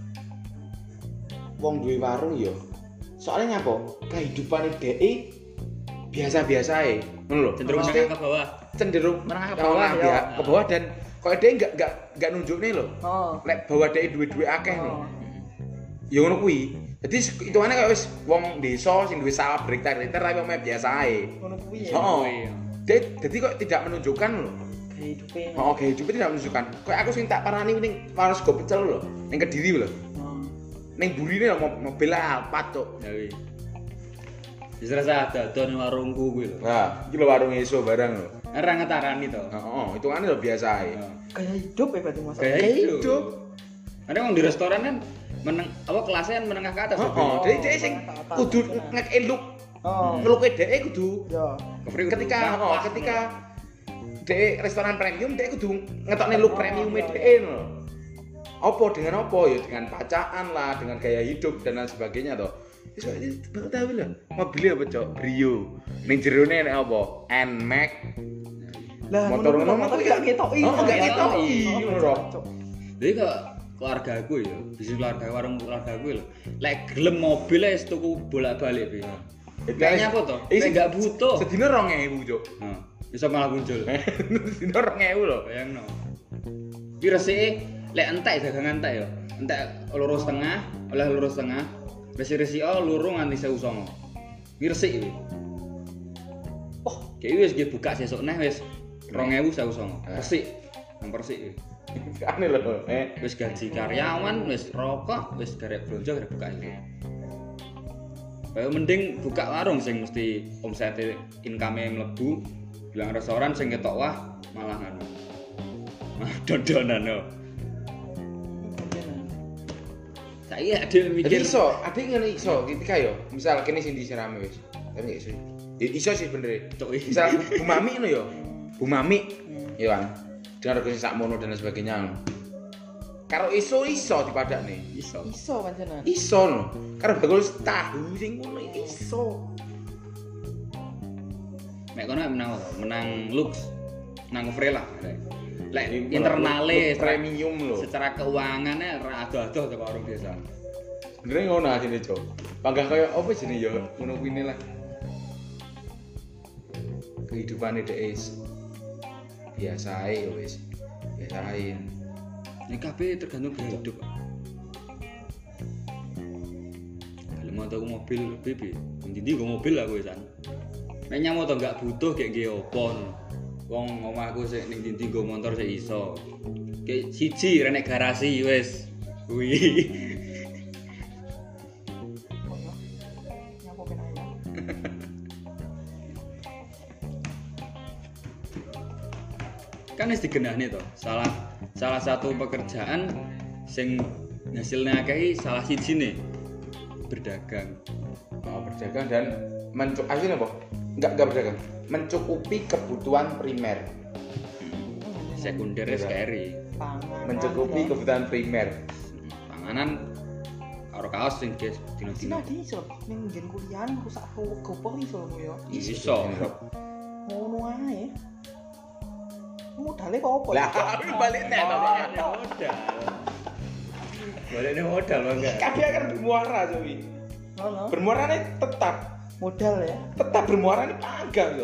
Wong duwe warung yo. Soalnya nyapa? Kehidupane dhek biasa-biasa ae. Ngono lho. Cenderung menengah ke bawah. Cenderung menengah ke bawah ya. Ke bawah dan kok dhek enggak nunjukne lho. Lek bawa dhek duwe akeh lho. Ya ngono kuwi. Jadi hitungane kaya wis wong desa sing duwe sawah berhektar-hektar tapi omeh biasa ae. Ngono kuwi ya. Heeh. Jadi kok tidak menunjukkan lho. Kehidupan. Oh, kehidupan tidak menunjukkan. Kayak aku sing tak parani ning Waras Go Pecel lho, ning Kediri lho. Ning burine lho mobil Alphard, Cuk. Ya wi. Wis rasa dadon warungku kuwi lho. Nah, iki lho warung eso barang lho. Ora ngetarani to. Heeh, hitungane lho biasa ae. Kayak hidup ya berarti Mas. Kayak hidup. Ada wong di restoran kan kelasnya kan menengah ke atas. Heeh, dhek sing kudu ngekek look. Ngeluke dhek kudu. Ya. Ketika dhek restoran premium dhek kudu ngetokne look premium dhek lho. Apa dengan apa ya dengan pacaan lah, dengan gaya hidup dan lain sebagainya toh. Wis kok iki tahu lho. Mobilnya apa, Cok? Brio. Ning jerone nek apa? Nmax. Lah Motor ngono kuwi gak ngetoki. Gak ngetoki lho. Jadi kok keluarga aku ya, bisnis keluarga warung keluarga aku lho. Lek gelem mobil wis tuku bolak-balik piye. Kayaknya apa toh? Lek gak butuh. Sedina 2.000, Cuk. Heeh. Bisa malah muncul. Sedina 2.000 lho. Bayangno. Ki resike lek entek dagangan entek ya. Entek lurus tengah, oleh lurus tengah. Resi-resi lurung nganti 1.900. Ki resik iki. Oh, kayak wis buka sesuk neh wis 2.000 1.900. Resik. Nang persik iki. Aneh lho. Wis gaji karyawan, wis rokok, wis garek blonjo garek buka iki. Kayak mending buka warung sing mesti omsete income-e mlebu, bilang restoran sing ketok wah malah ngono. Malah dodonan yo. Saiki ade mikir iso, ade ngene iso ketika yo, misal kene sing disirame wis. Tapi gak iso. Ya iso sih bener. Misal Bu Mami ngono yo. Bu Mami ya kan. Dengan rego sing sakmono dan sebagainya. Karo iso dipadakne. iso. Iso pancen. Iso lho. Karo bakul tahu sing ngono iso. Nek kono menang looks, menang Frela. Lek internale premium lho. Secara keuangannya ora adoh-adoh teko orang biasa. Sebenarnya ngono asine, Cok. Panggah kaya apa jenenge ya ngono kuwi lah. Kehidupane dhek biasa ae wis. Biasa ae. Ini kabeh tergantung gaya hidup. Kalau mau tahu mobil BB, intinya gue mobil lah gue san. Nek nyamo to enggak butuh kayak gue opon. Wong omahku sik ning ndi nggo motor sik iso. Kayak siji renek garasi wis. Kuwi. Nyapo penanya. Kan wis digenahne to. Salah satu pekerjaan sing hasilnya akeh salah sijine berdagang. Berdagang dan akhirnya apa? Enggak berdagang. Mencukupi kebutuhan primer. Sekunder sekali. Mencukupi kebutuhan primer. Panganan karo kaos sing dino-dino. Sinadi iso ning nggen kuliah rusak gopoh iso lho ya. Iso. Ngono ae. Modale kok apa? Lah, balik nek to. Modal. Baliknya modal bangga. Kabeh akan bermuara cuy. Ngono. Bermuarane tetap Modal ya. tetap bermuara ini panggang yo.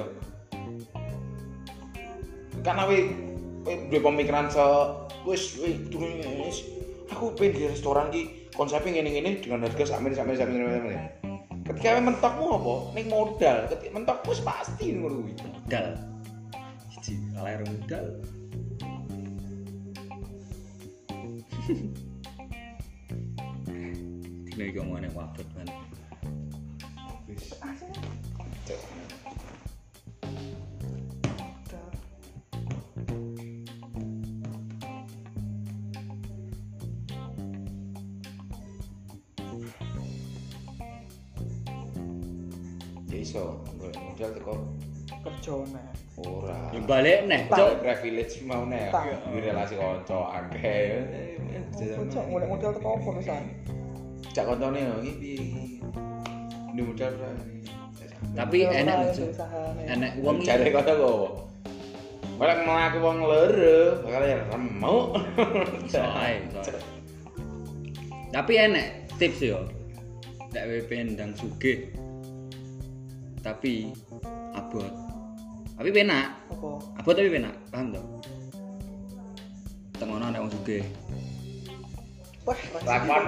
Karena we duwe pemikiran wis aku pengen di restoran ki konsepnya ngene-ngene dengan harga sakmene. Ketika we mentokmu apa? Ning modal. Ketika mentokmu wis pasti ngono kuwi. Modal. Siji kalah modal. Dina iki omongane wabot kan. Wis. Ya iso, modal teko Kerja nek. ora. Ya balik neh, Cok Cok. privilege mau nek Tak. di relasi kanca akeh. Cok golek modal teko apa pisan? Cak koncone yo iki piye? Ini modal ora. Tapi enak lho, Cok. Enak wong iki. Jare kono kok. Ora mlaku wong loro, bakal ya remuk. Soai. Tapi enak tips yo. Nek WP ndang sugih. Tapi abot. Tapi penak. Apa? Abot tapi penak, paham to? Tengono nek wong sugih. Wah, Lakon.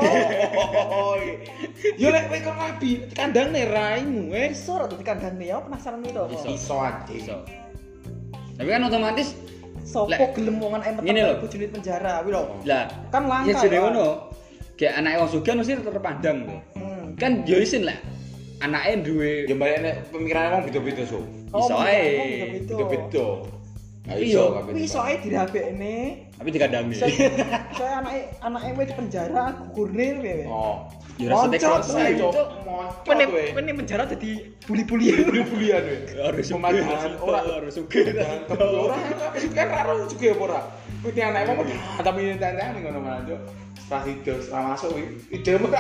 Yo lek kowe kok rabi, kandangne raimu wis. iso ora dadi kandhane ya penasaran itu apa? Iso. Iso aja. Iso. Tapi kan otomatis Sopo Lek- gelem wong anak Ngene lho. bojone penjara kuwi lho. lah Kan langka. ya jenenge ya. ngono. Kayak anake wong sugih mesti terpandang to. Kan yo isin lah. Anake duwe Ya balik nek pemikirane wong beda-beda so. Iso ae. Beda-beda. Ayo Iya, iso kabeh. Kuwi iso ae dirabekne. tapi dikandangi. Saya anake wis di penjara gugurne piye. Oh. Ya rasane Moncot, cross Cok. Cok. Pene Moncot kowe. pene penjara dadi buli-bulian. Buli-bulian kowe. harus Pemajangan ora harus sugih. ora kan karo juga apa ora. Kuwi anake wong tapi tantang ngono malah Cok. Pas itu setelah masuk kuwi ide ora.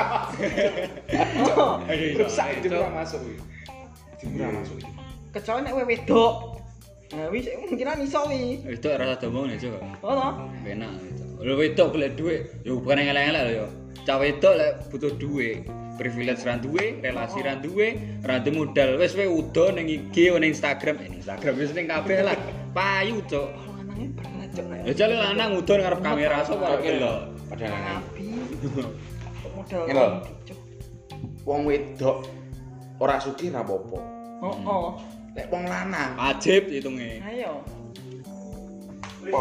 Rusak ide ora masuk kuwi. Ide ora masuk. Kecuali nek kowe wedok. Nah, wis mungkinan iso wi. Itu rasa domong nih coba. Ono. Enak gitu. Lho wedok golek dhuwit, yo bukan yang elek-elek lho yo. Cah wedok lek butuh dhuwit, privilege ra duwe, relasi ra duwe, ra duwe modal. Wis kowe udo ning IG, ning Instagram, Instagram wis ning kabeh lah. Payu, Cuk. Lanange berat cok nek. Ya jale lanang udo ngarep kamera sapa Oke lho. lho. Padahal Nabi. Modal. Ngene lho. Cok. wong wedok ora sugih ra apa-apa. Oh. Lek wong lanang Wajib hitunge. Ayo. apa?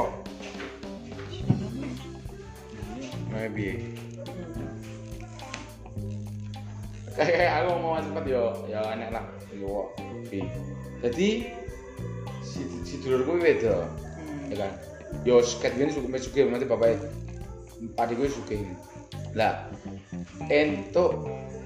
Nah, piye? Kayak aku mau cepet yo, ya enak lah. Yo. Oke. Jadi si dulurku wedok, ya kan. Yo seket ngene sugih mati bapake. Adikku sugih. Lah entuk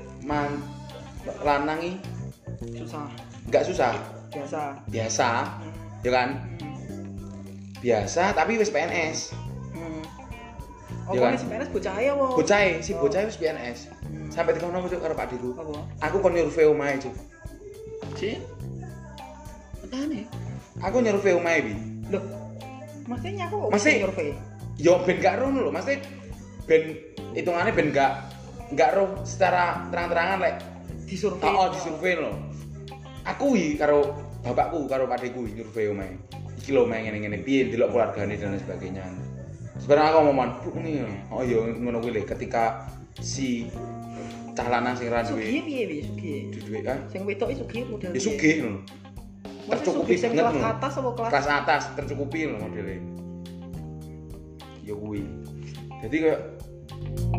lanang iki Susah. enggak susah, biasa, ya kan? Biasa tapi wis PNS. Oh, Ya kan? kan PNS bocah ae apa? Si bocah wis PNS. Sampai dikono aku karo Pak Diku. Apa? Aku kon nyurvei omahe, Cuk. Si. Matane. Aku nyurvei omahe bi. Loh. Maksudnya aku Masih- survei. Yo ben gak roh lho, mesti ben hitungane ben gak roh secara terang-terangan lek. Disurvei. Oh, disurvei lho. Aku iki karo bapakku karo Pak Diku nyurvei omahe. Iki lho omahe ngene-ngene piye delok keluargane dan lain sebagainya. Sebenarnya aku ngomong, "Bu ini." Oh iya ngono kuwi lho ketika si cah lanang sing ra Sugih duwe piye wi? Sugih. duwe kan Sing wedok iki sugih model. ya sugih lho. Tercukupi sing banget kelas lho. atas apa kelas? Kelas atas tercukupi lho modelnya. Ya kuwi. Jadi kayak